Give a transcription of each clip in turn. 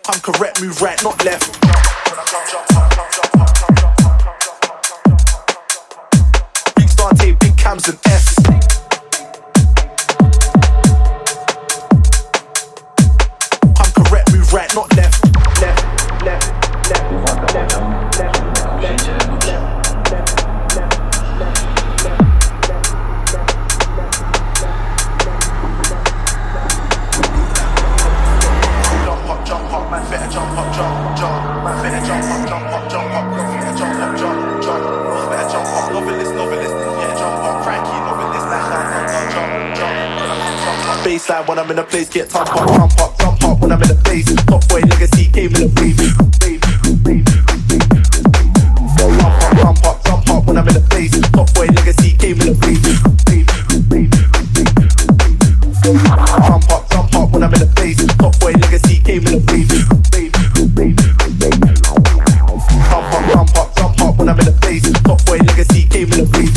I'm correct, move right, not left. Big star tape, big cams and F's. I'm correct, move right, not left. Left, left, left, left, left, left. Man better jump up, jump, jump. Man better jump up, jump up, jump up. Better jump up, jump, jump. Better jump up, novelist, novelist. Yeah, jump up, cranky, novelist. Jump, jump. Baseline when I'm in a place, get jump up, jump up, jump up. When I'm in a place, top boy legacy came in a wave. Jump up, jump up. When I'm in a place, top boy legacy came in a wave. Jump up when I'm in a place. Top boy legacy came in a wave. Jump up when I'm in a place. Top boy legacy came in a wave.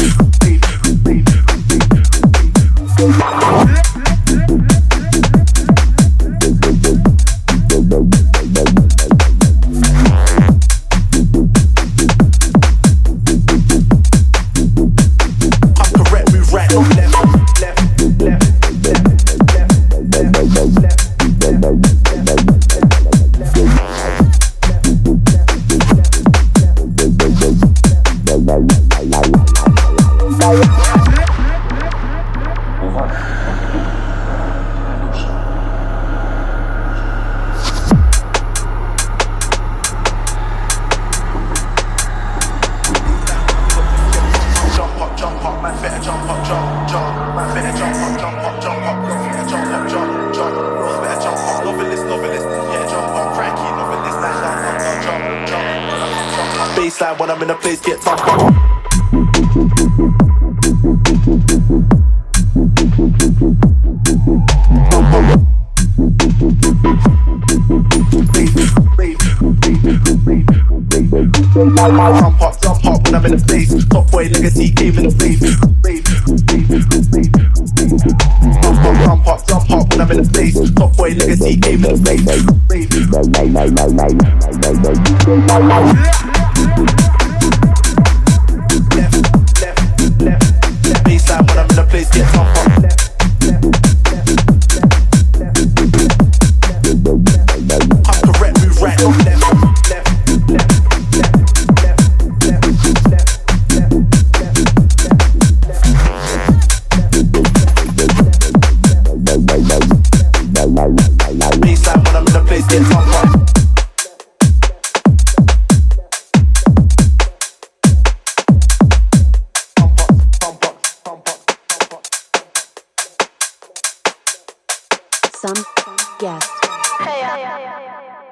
I'm correct, move right, not left, left, baseline when I'm in a place, get top up. Jump up when I'm in a place. Top boy legacy came in a wave. Jump up when I'm in a place. Top boy legacy came in a wave. Left, baseline when I'm in a place, get top up. I'm correct, move right, not left. Baseline when I'm in a place, get top up. Some guest. Hey,